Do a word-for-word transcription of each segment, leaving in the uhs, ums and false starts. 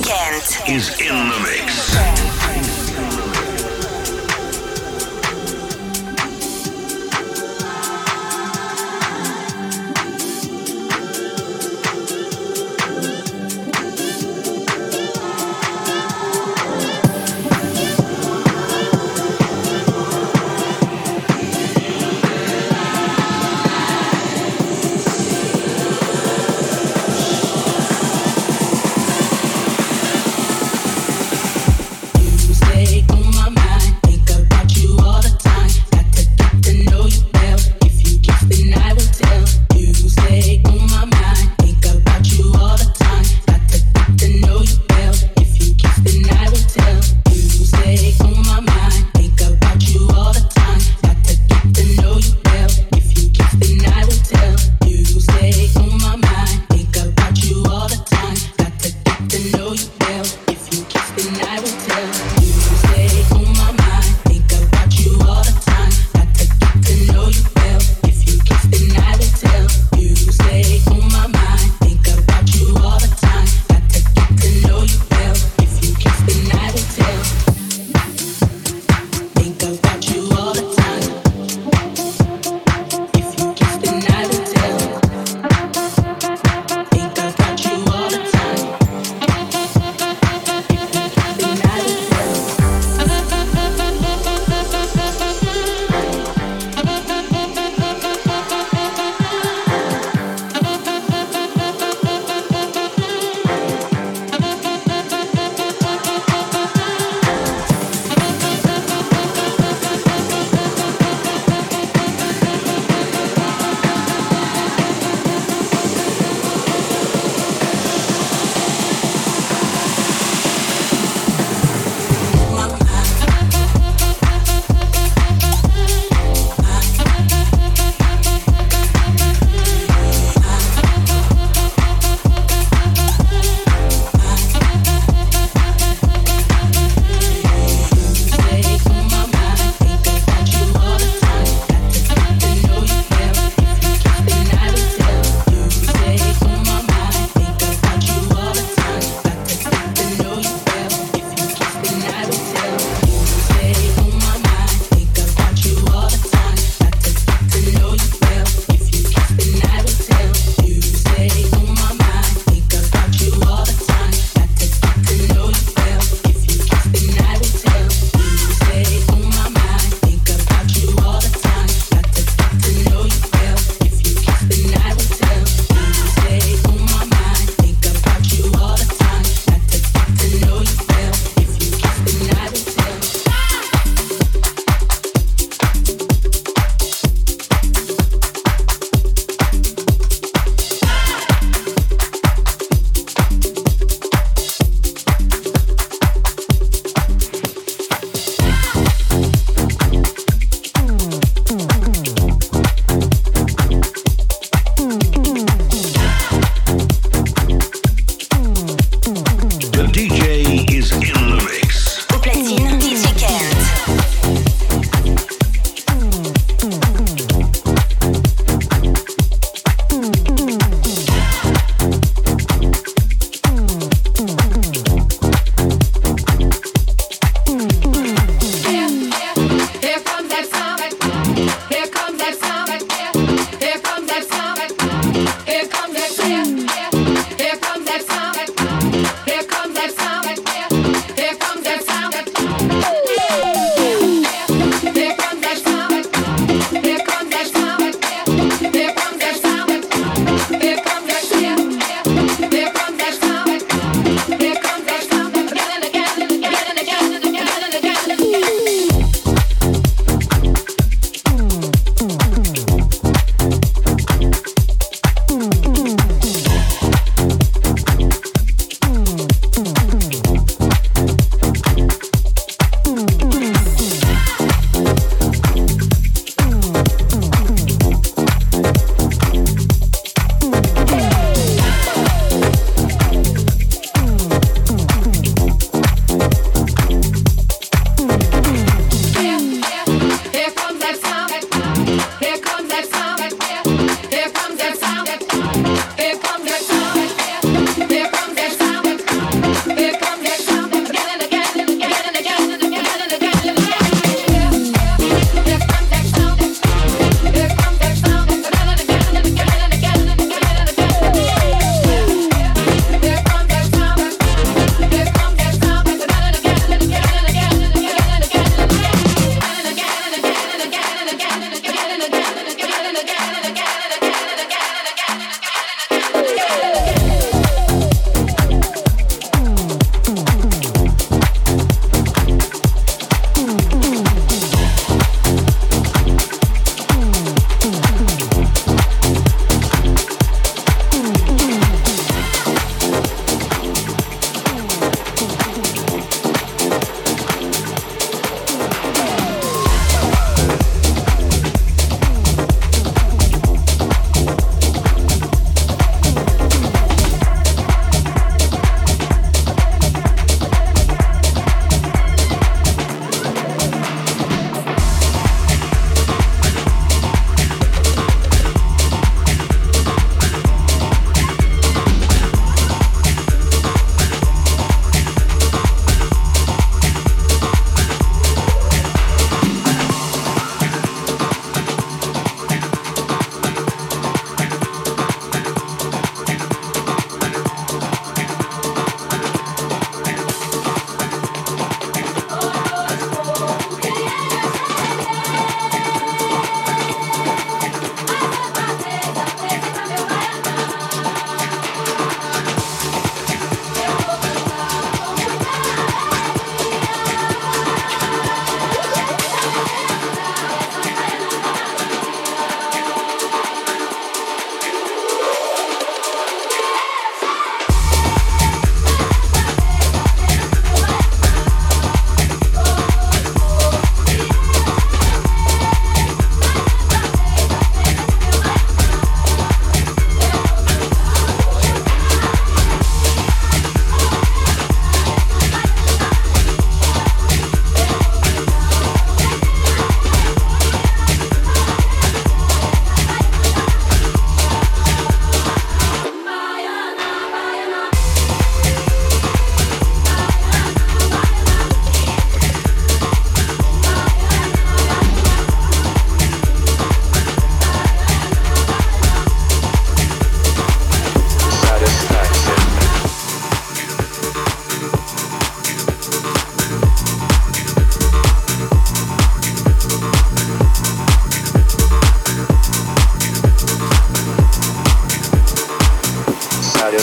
Weekend is in the mix.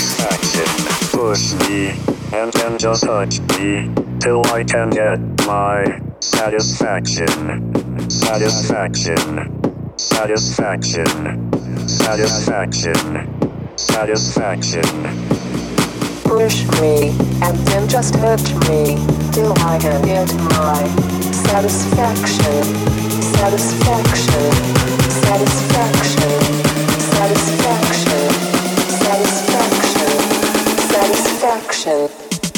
satisfaction. Push me, and then just touch me, till I can get my satisfaction. Satisfaction. Satisfaction. Satisfaction. Satisfaction. Push me, and then just touch me, till I can get my satisfaction. Satisfaction. Satisfaction. Satisfaction. Satisfaction. Satisfaction.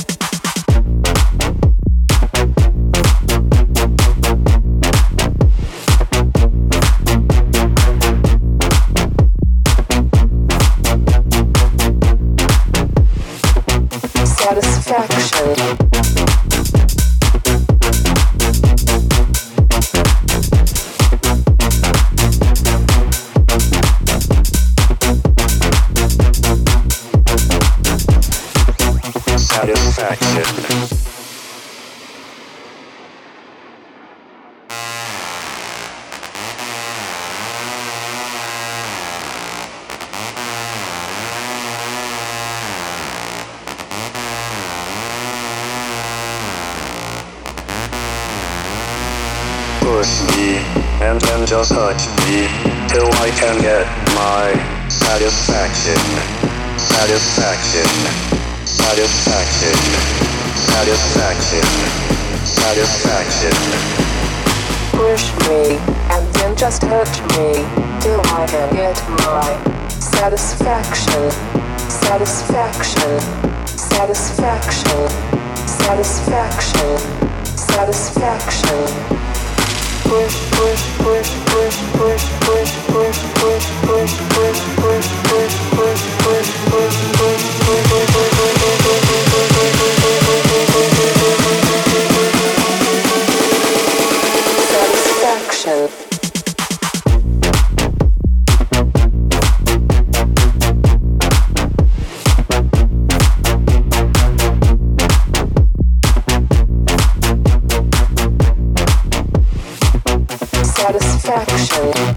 Satisfaction. Push me, and then just touch me, till I can get my satisfaction. Satisfaction. Satisfaction. Satisfaction. Satisfaction. Push me, and then just touch me, till I can get my satisfaction. Satisfaction. Satisfaction. Satisfaction. Satisfaction. Push, push, push, push, push, push, push, push, push, push, push, push, push, push, push, satisfaction. Satisfaction.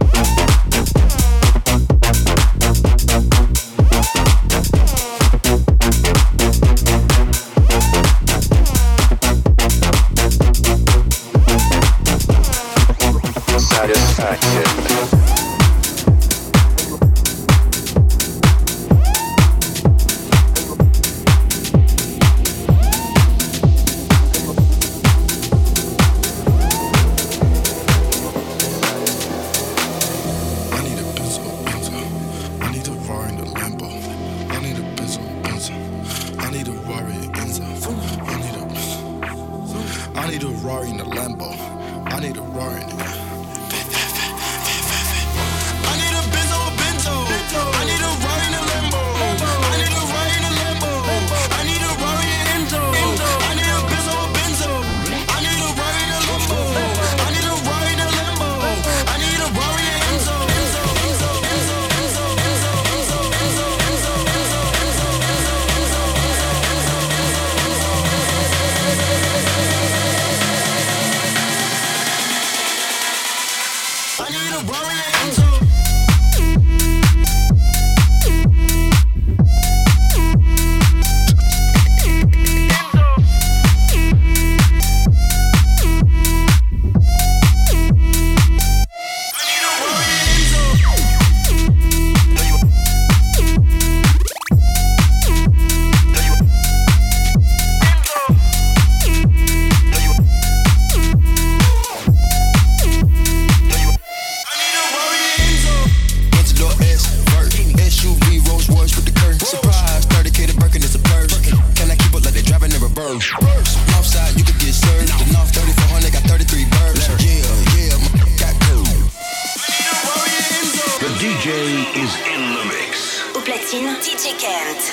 D J Kent.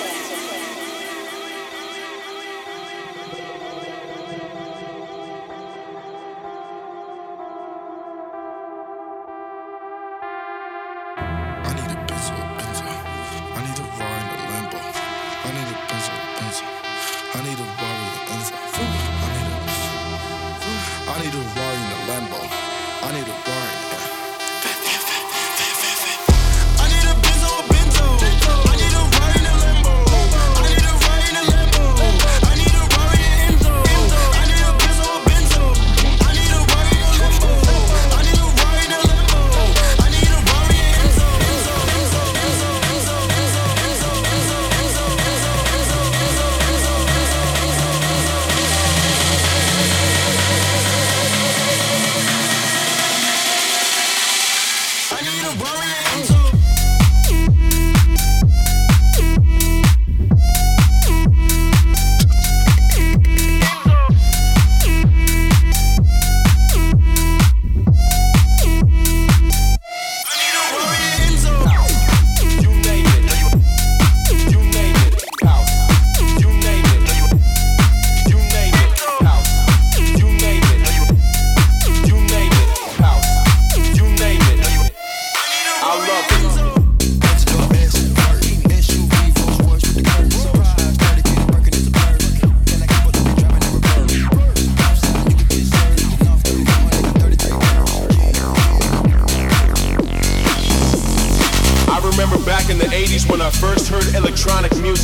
I need a Benzo, Benzo. I need a ride in a Lambo.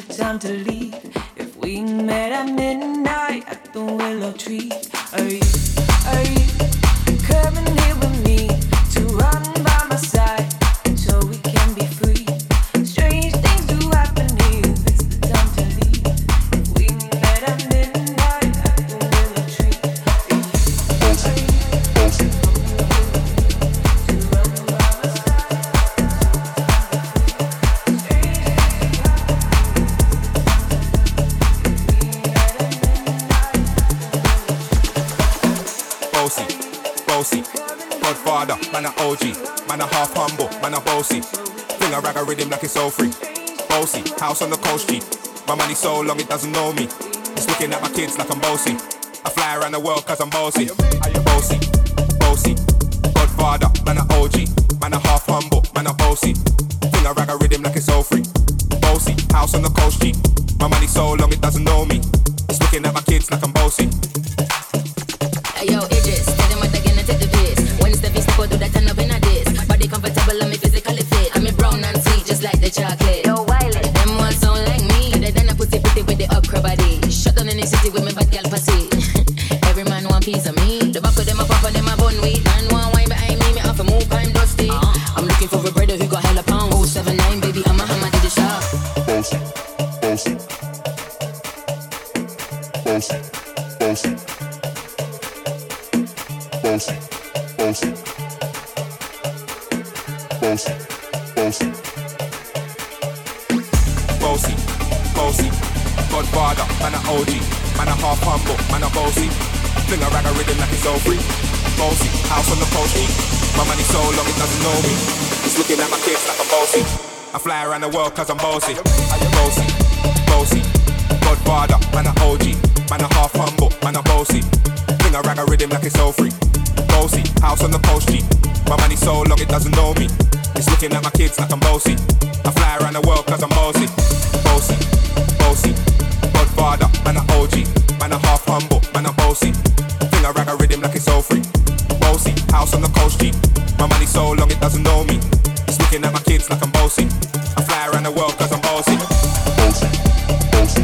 the time to leave. If we met at midnight at the willow tree, are you, are you coming here with me to run by my side so we can be free? Strange things do happen here. It's the time to leave. If we met at midnight at the willow tree, are you, are you to run by my side? Bossy, bossy, Godfather, man a O G, man a half humble, man a bossy. Fling a rag a rhythm like it's all free. Bossy, house on the coast G. My money so long it doesn't know me. It's looking at my kids like I'm bossy. I fly around the world cause I'm bossy. Bossy, bossy, Godfather, man a O G, man a half humble, man a bossy. Fling a rag a rhythm like it's all free. Bossy, house on the coast G. My money so long it doesn't know me. It's looking at my kids like I'm bossy. Yo, Idris, tell them what again and take the piss. When it's the beast, go do that turn up in a diss. Body comfortable, I'm physically fit. I'm a brown and sweet, just like the chocolate. Yo, Wiley, them ones sound like me. Better than a pussy pretty with the upper body. Shut down in the city with me bad girl pussy. Every man want piece of me. The back of them a pop and them a bun weed. Man want wine behind me, me off a move, I'm dusty. Uh-huh. I'm looking for a brother who got hella pound. oh seven nine, baby, I'm a hammer to the shop. Bossy, bossy, bossy, bossy. Bossy, bossy, bossy, bossy, bossy, bossy, Godfather, man a O G, man a half humble, man a bossy. Fling a rag a rhythm like it's all free. Bossy, house on the coast G. My money so long it doesn't know me. It's looking at my kids like I'm bossy. I fly around the world cause I'm bossy. Bossy, bossy, Godfather, man a O G, man a half humble, man a bossy. Fling a rag a rhythm like it's all free. Bossy, house on the coast G. My money so long it doesn't know me. It's looking at my kids like I'm bossy. I fly around the world cause I'm bossy. Bossy, bossy, Godfather, man a O G, man a half humble, man a bossy. Fling a rag a rhythm like it's all free. Bossy, house on the coast G. My money so long it doesn't know me. It's looking at my kids like I'm bossy. I fly around the world cause I'm bossy. Bossy, bossy.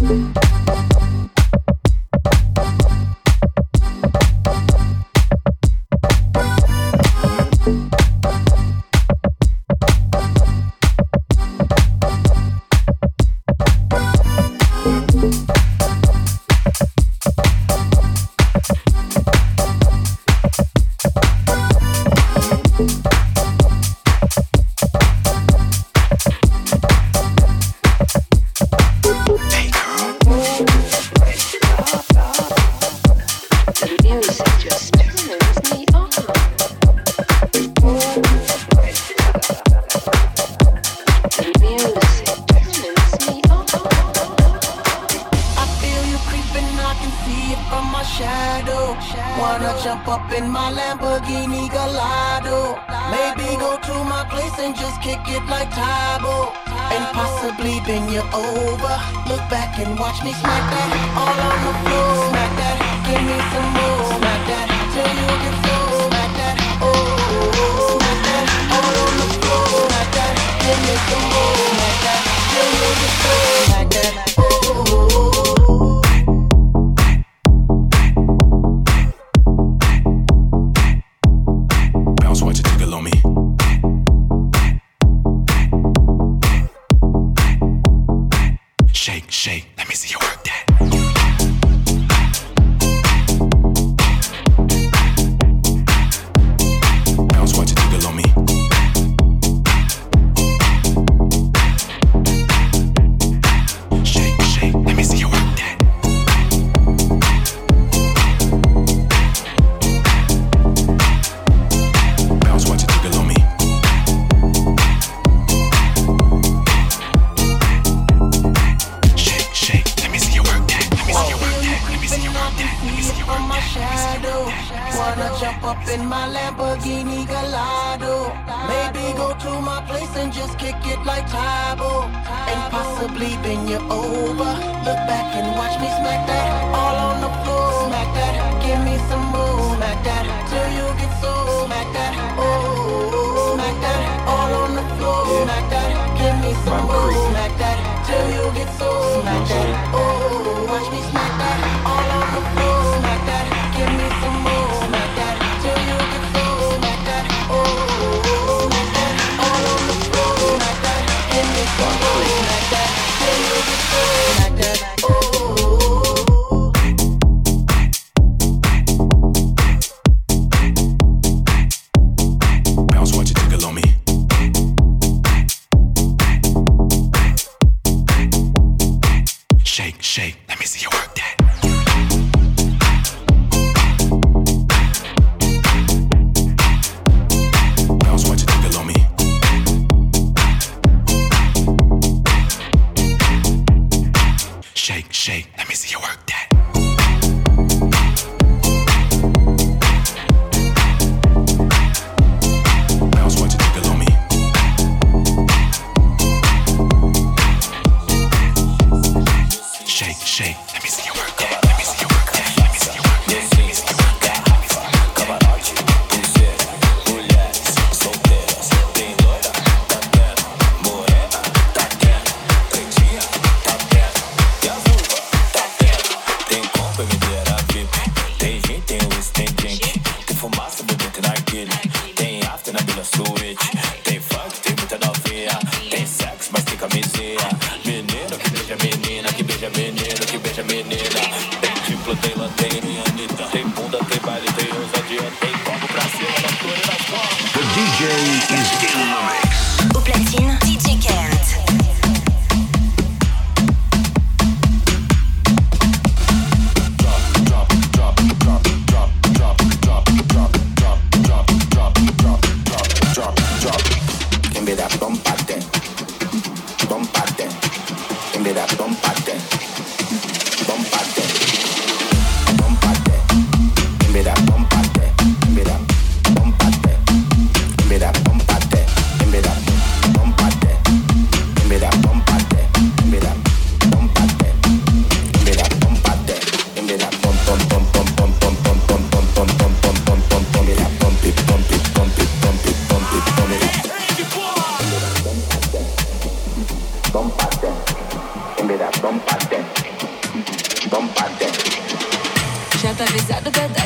Bombate,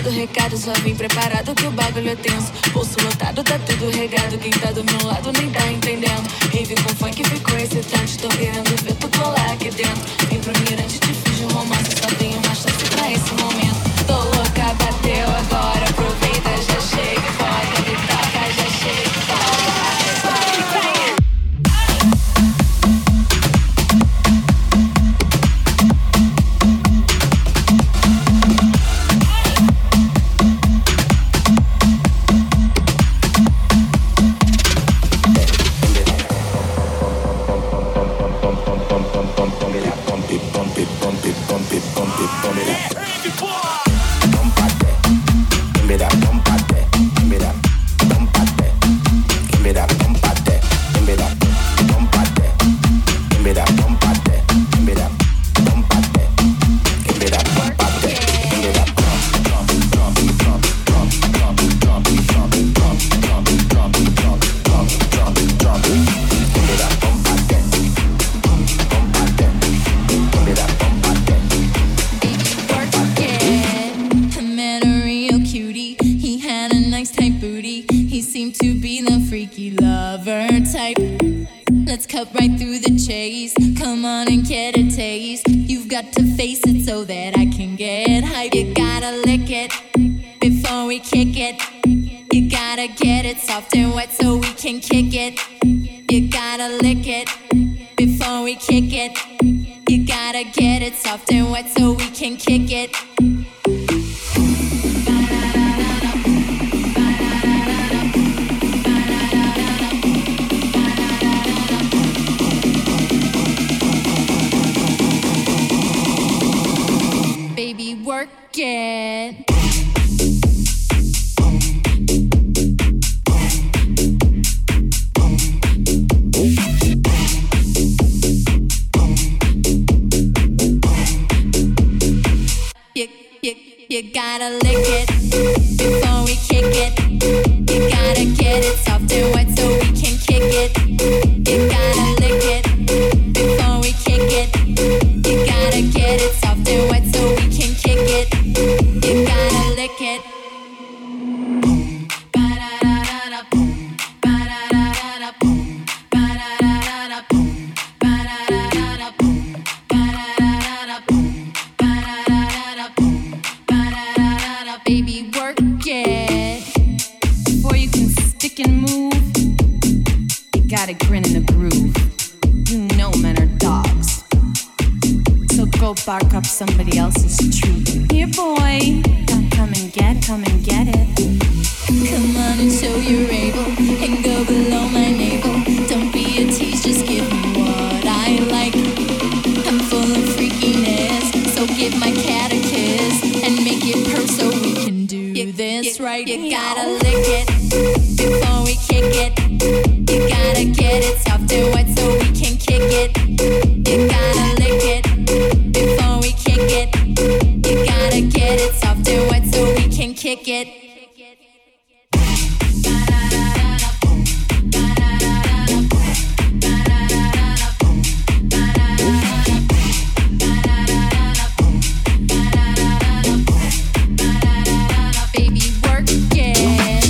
Mando recado, só vim preparado que o bagulho é tenso. Bolso lotado, tá tudo regado. Quem tá do meu lado nem tá entendendo. Rave com funk ficou excitante. Tô querendo ver tu colar aqui dentro. Vim pro mirante, te fiz um romance. Só tenho uma chance pra esse momento. Tô louca, bateu agora. Aproveita, já chega e bota. Me toca, já chega e bota. Somebody else's treat. Here, boy, come and get, come and get it. Come on and show you're able, and go below my navel. Don't be a tease, just give me what I like. I'm full of freakiness, so give my cat a kiss and make it purr so we can do you, this you, right. You gotta lick it before we kick it. You gotta get it soft and wet so we can kick it. You gotta lick it. You gotta get it soft and wet so we can kick it. Baby, work it.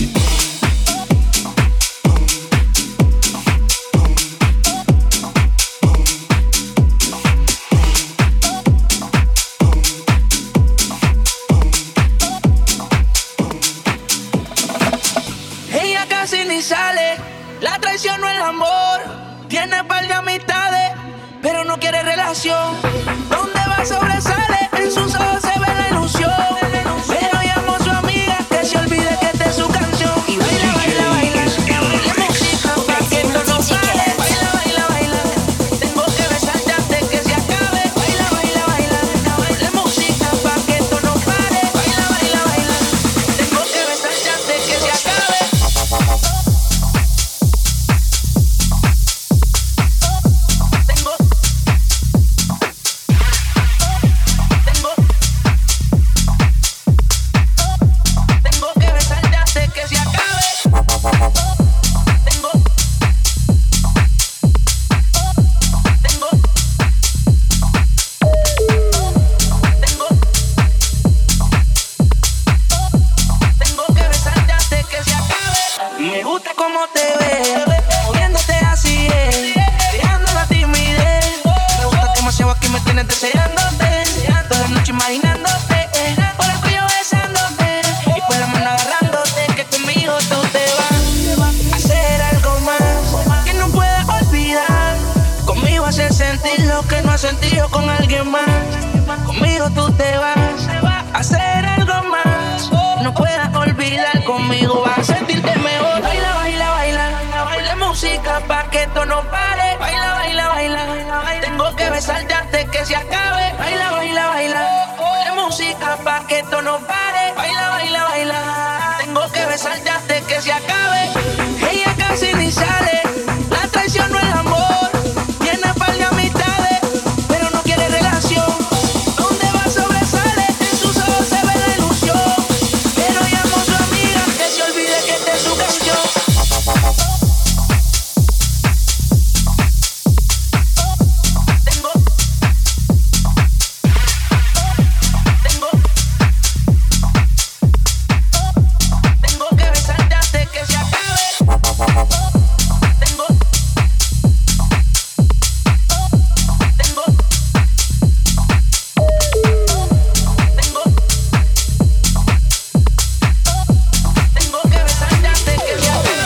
Sale, la traición no es el amor. Tiene par de amistades, pero no quiere relación. Donde va sobresale, en sus ojos se ve la ilusión. Pero llamo a su amiga que se olvide que esta es su canción. Y baila, baila, baila, la música pa' que esto no sale. Baila, baila, baila, tengo que besarte antes que se acabe. Baila, baila, baila, la música pa' que esto no pare. Baila, baila, baila, tengo que besarte antes que se acabe. que me tienes deseándote, toda la noche imaginándote, por el cuello besándote y por la mano agarrándote, que conmigo tú te vas a hacer algo más que no puedes olvidar. Conmigo hacer sentir lo que no has sentido con alguien más. Conmigo tú te vas a hacer algo más, no puedas olvidar. Conmigo vas a sentirte mejor. Baila, baila, baila, baila música pa' que esto no pare. Baila, baila, baila, tengo que besarte antes que se acabe. Baila, baila, baila, baila música pa' que esto no pare. Baila, baila, baila, tengo que besarte antes que se acabe. Ella casi ni sale, la traición no es amor. Tiene par de amistades, pero no quiere relación. Donde va sobresale, en sus ojos se ve la ilusión. Pero llamo a su amiga, que se olvide que esta es su canción. Tengo, tengo, tengo que besarte antes que se acabe. Tengo, tengo, tengo, tengo que besarte antes que se acabe.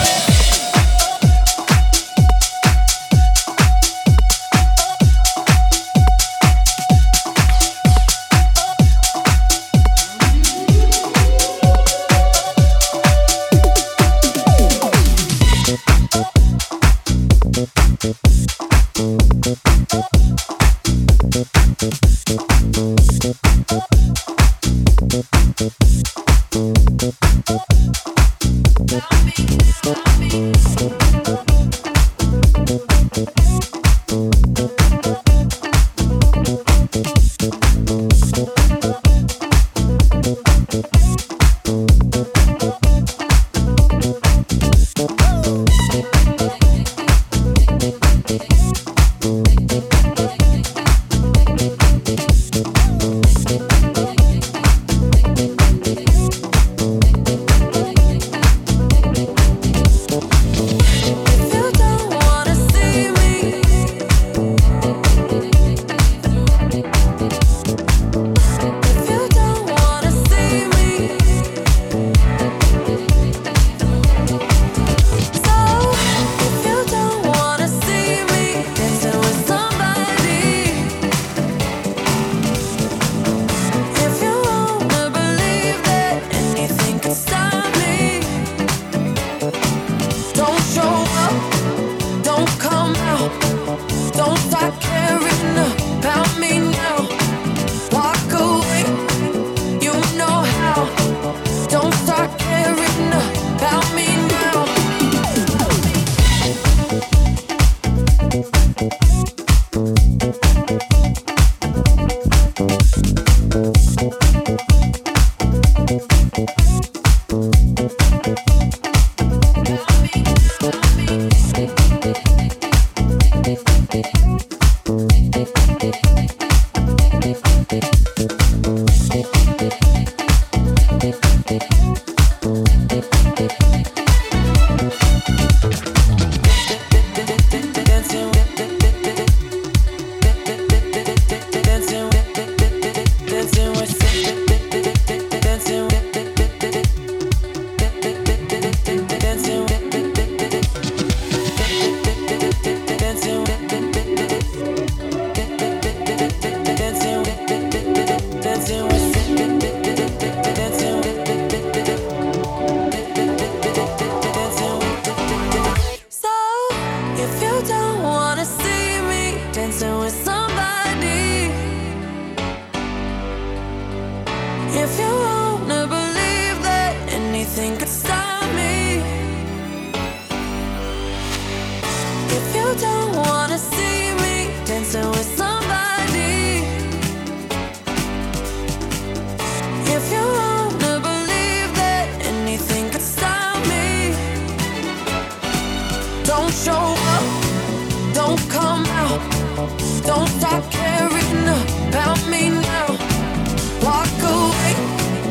Don't stop caring about me now. Walk away,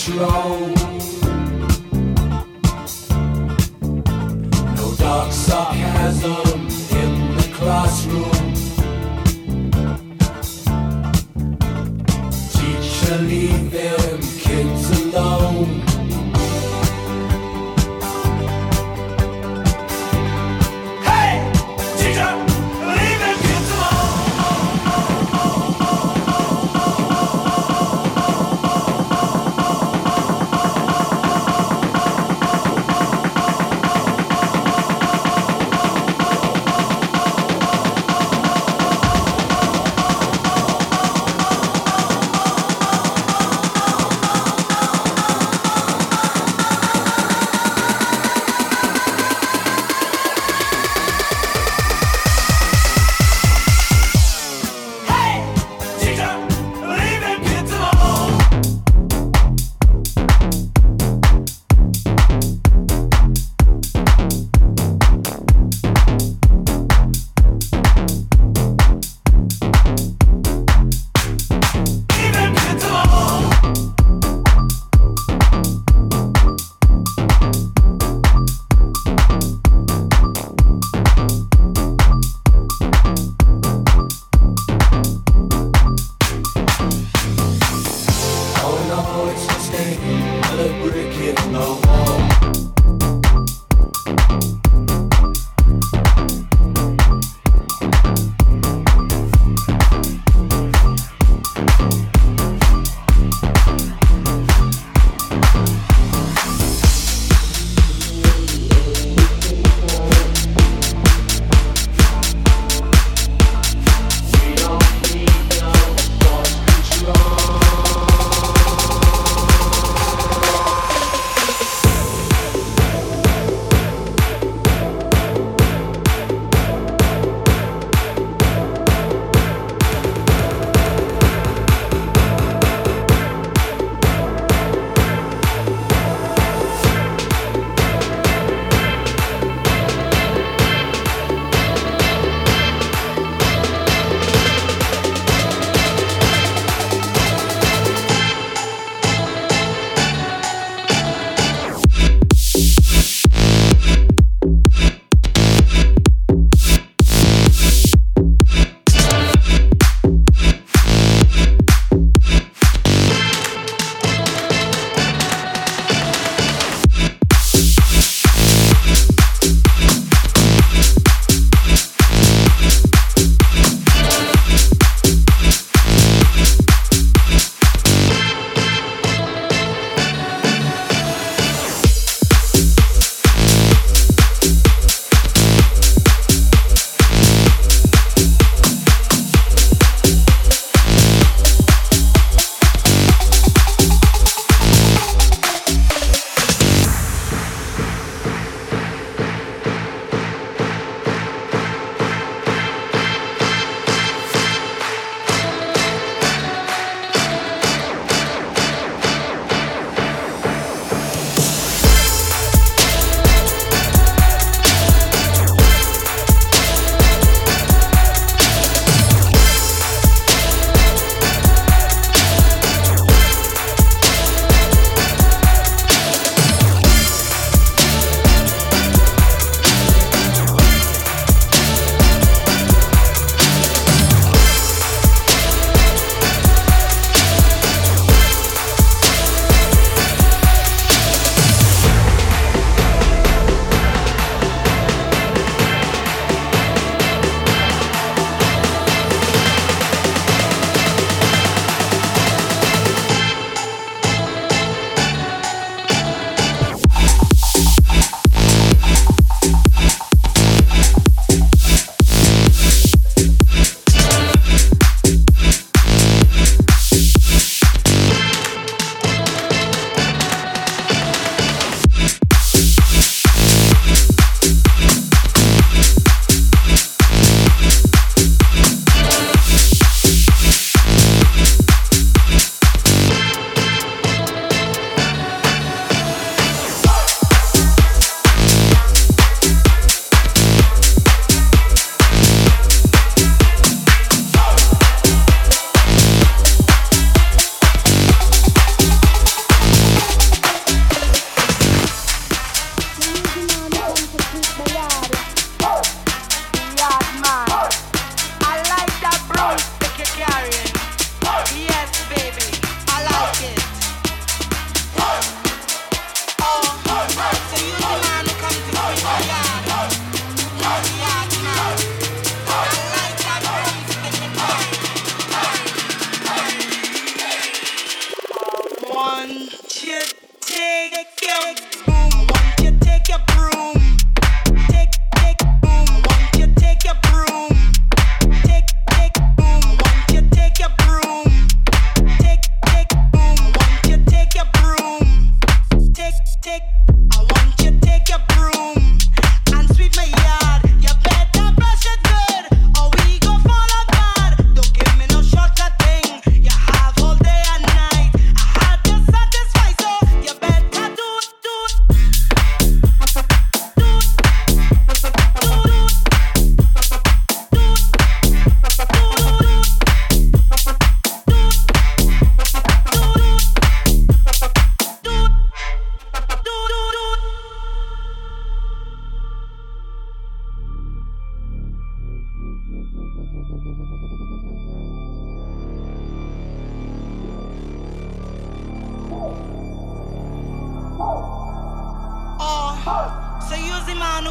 control. No dark sarcasm in the classroom. Teacher, leave them kids alone.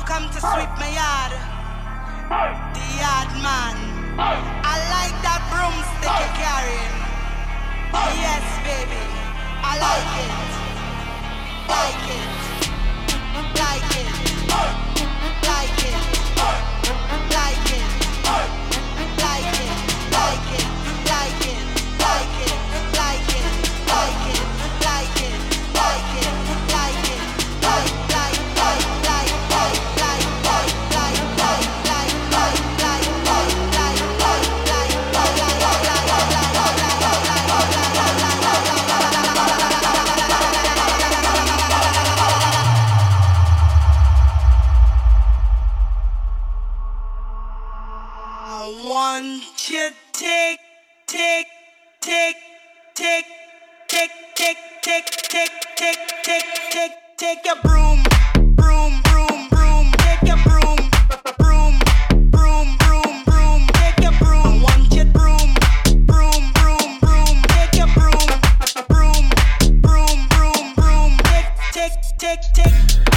come to sweep my yard. The yard man. I like that broomstick you're carrying. Yes, baby. I like it. Like it. Like it. Like it. Like it. Like it. Like it. Like it. Like it. Like it. Like it. Like it. Like it. Like it. Like like like like like like like like like like like like I want you take take take take take take take take take take take take your broom broom broom broom take your broom broom broom broom broom take your broom. I want you broom broom broom broom take your broom broom broom broom broom take take take take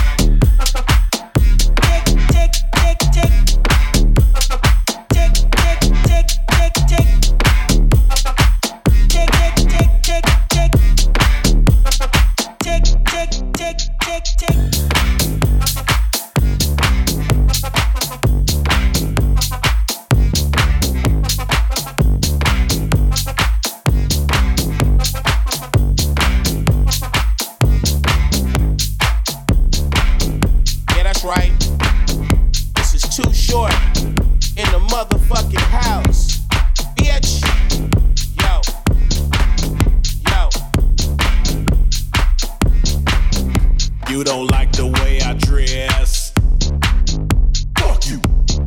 You don't like the way I dress. Fuck you.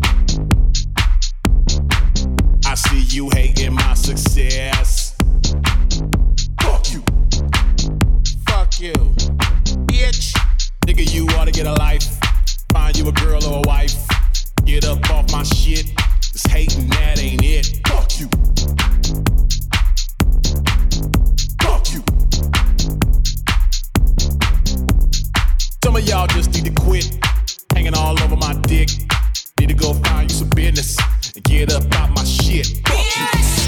I see you hating my success. Fuck you. Fuck you. Bitch. Nigga, you ought to get a life. Find you a girl or a wife. Get up off my shit. This hating, that ain't it. Fuck you. Some of y'all just need to quit hanging all over my dick. Need to go find you some business and get up out my shit. Yes.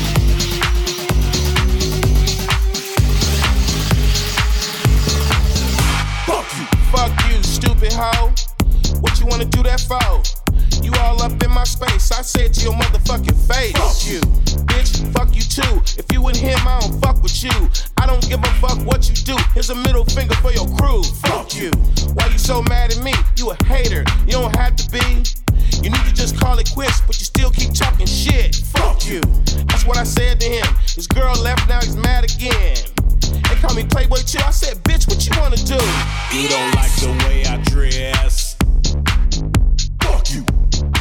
Fuck you. Fuck you, stupid hoe. What you wanna do that for? You all up in my space. I said to your motherfucking face. Fuck you. Bitch, fuck you too. If you and him, I don't fuck with you. I don't give a fuck what you do. Here's a middle finger for your crew. Fuck you. Why you so mad at me? You a hater. You don't have to be. You need to just call it quits, but you still keep talking shit. Fuck you. That's what I said to him. His girl left, now he's mad again. They call me Playboy too. I said, bitch, what you wanna do? You don't like the way I dress. Fuck you.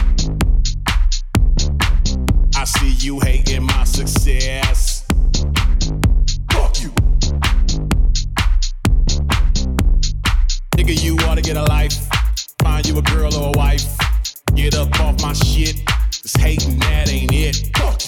I see you hating my success. Fuck you. Nigga, you ought to get a life. Find you a girl or a wife. Get up off my shit. This hating, that ain't it. Fuck